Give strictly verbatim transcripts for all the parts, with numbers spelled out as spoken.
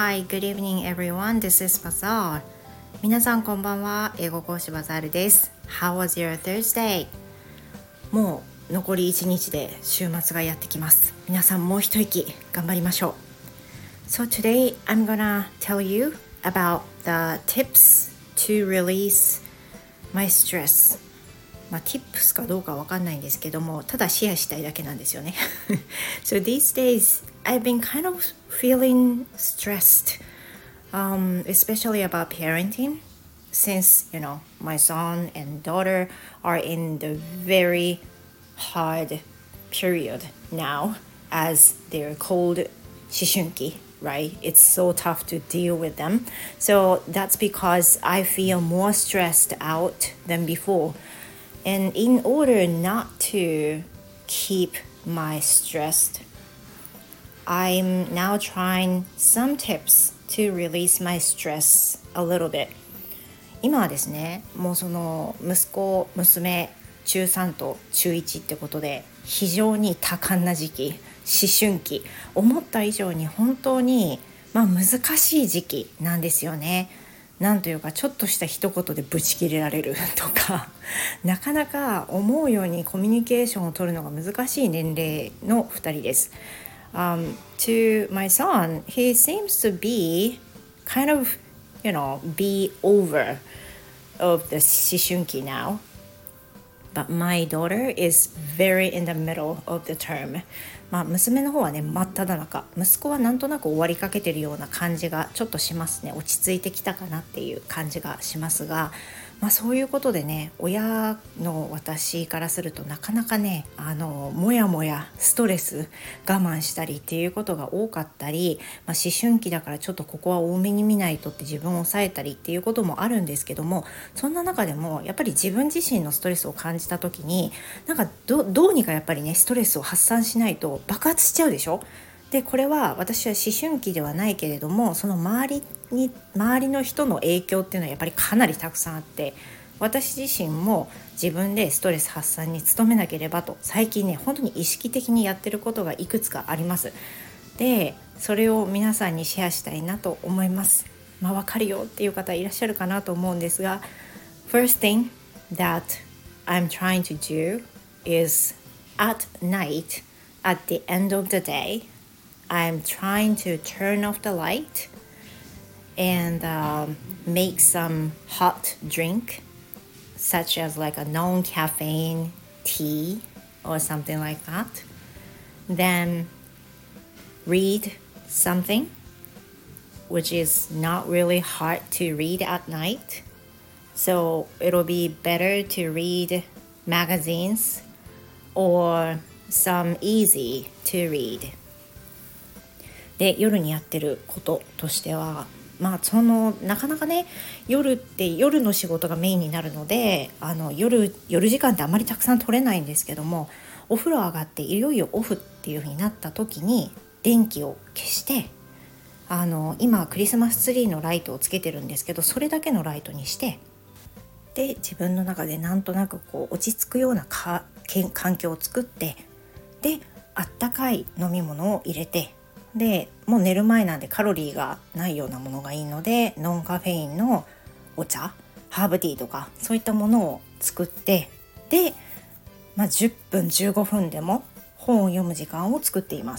Hi, good evening everyone. This is Bazaar. 皆さんこんばんは。英語講師バザールです。How was your Thursday? もう残りいちにちで週末がやってきます。皆さんもう一息頑張りましょう。So today I'm gonna tell you about the tips to release my stress. まあ tips かどうかわかんないんですけども、ただシェアしたいだけなんですよね。So these days I've been kind of feeling stressed, um, especially about parenting, since you know my son and daughter are in the very hard period now, as they're called 思春期, right? It's so tough to deal with them. So that's because I feel more stressed out than before. And in order not to keep my stressed, I'm now trying some tips to release my stress a little bit. 今はですね、もうその息子、娘、ちゅうさんとちゅういちってことで非常に多感な時期、思春期、思った以上に本当に、まあ、難しい時期なんですよね。なんというかちょっとした一言でブチ切れられるとか、なかなか思うようにコミュニケーションを取るのが難しい年齢のふたりです。Um, to my son, he seems to be kind of, you know, be over of the 思春期 now. But my daughter is very in the middle of the term. まあ娘の方はね真っ只中、息子はなんとなく終わりかけてるような感じがちょっとしますね。落ち着いてきたかなっていう感じがしますが、まあそういうことでね、親の私からするとなかなかね、あのもやもやストレス我慢したりっていうことが多かったり、まあ、思春期だからちょっとここは多めに見ないとって自分を抑えたりっていうこともあるんですけども、そんな中でもやっぱり自分自身のストレスを感じた時になんか ど, どうにかやっぱりねストレスを発散しないと爆発しちゃうでしょ。でこれは私は思春期ではないけれども、その周りに周りの人の影響っていうのはやっぱりかなりたくさんあって、私自身も自分でストレス発散に努めなければと最近ね本当に意識的にやってることがいくつかあります。でそれを皆さんにシェアしたいなと思います。まあ分かるよっていう方いらっしゃるかなと思うんですが、 First thing that I'm trying to do is at night, at the end of the day, I'm trying to turn off the light and um, make some hot drink, such as like a non-caffeine tea or something like that. Then read something which is not really hard to read at night. So it'll be better to read magazines or some easy to read. で夜にやってることとしては、まあそのなかなかね夜って夜の仕事がメインになるので、あの夜夜時間ってあまりたくさん取れないんですけども、お風呂上がっていよいよオフっていう風になった時に電気を消して、あの今クリスマスツリーのライトをつけてるんですけど、それだけのライトにして、で自分の中でなんとなくこう落ち着くようなか環境を作って、であったかい飲み物を入れて、でもう寝る前なんでカロリーがないようなものがいいのでノンカフェインのお茶、ハーブティーとかそういったものを作って、で、まあ、じゅっぷんじゅうごふんでも本を読む時間を作っています。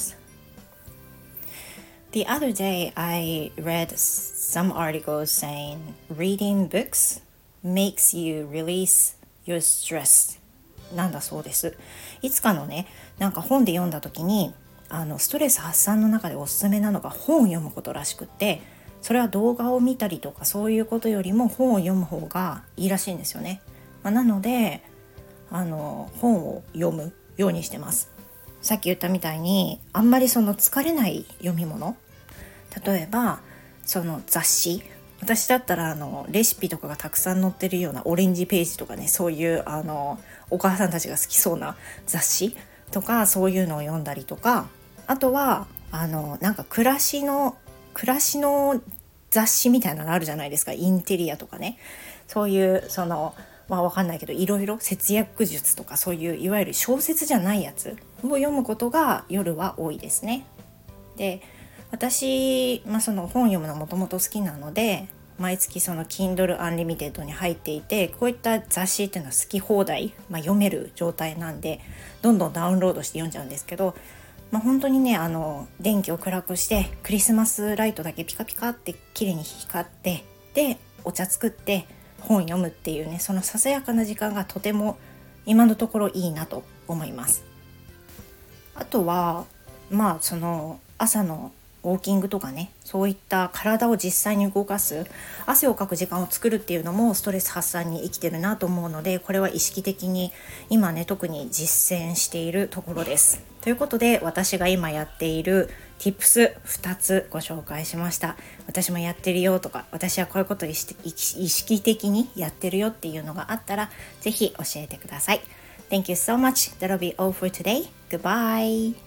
The other day I read some articles saying reading books makes you release your stress なんだそうです。いつかのねなんか本で読んだ時に、あのストレス発散の中でおすすめなのが本を読むことらしくって、それは動画を見たりとかそういうことよりも本を読む方がいいらしいんですよね。まあ、なのであの本を読むようにしてます。さっき言ったみたいにあんまりその疲れない読み物、例えばその雑誌、私だったらあのレシピとかがたくさん載ってるようなオレンジページとかね、そういうあのお母さんたちが好きそうな雑誌とかそういうのを読んだりとか、あとはあのなんか暮らしの暮らしの雑誌みたいなのあるじゃないですか。インテリアとかね、そういうそのまあわかんないけどいろいろ節約術とかそういういわゆる小説じゃないやつを読むことが夜は多いですね。で私、まあ、その本読むのもともと好きなので、毎月その Kindle Unlimited に入っていて、こういった雑誌っていうのは好き放題、まあ、読める状態なんでどんどんダウンロードして読んじゃうんですけど、まあ、本当にねあの電気を暗くしてクリスマスライトだけピカピカって綺麗に光って、でお茶作って本読むっていうね、そのささやかな時間がとても今のところいいなと思います。あとはまあその朝のウォーキングとかね、そういった体を実際に動かす、汗をかく時間を作るっていうのもストレス発散に生きてるなと思うので、これは意識的に今ね特に実践しているところです。ということで、私が今やっている Tips ふたつご紹介しました。私もやってるよとか、私はこういうことを意識的にやってるよっていうのがあったら、ぜひ教えてください。Thank you so much. That'll be all for today. Goodbye.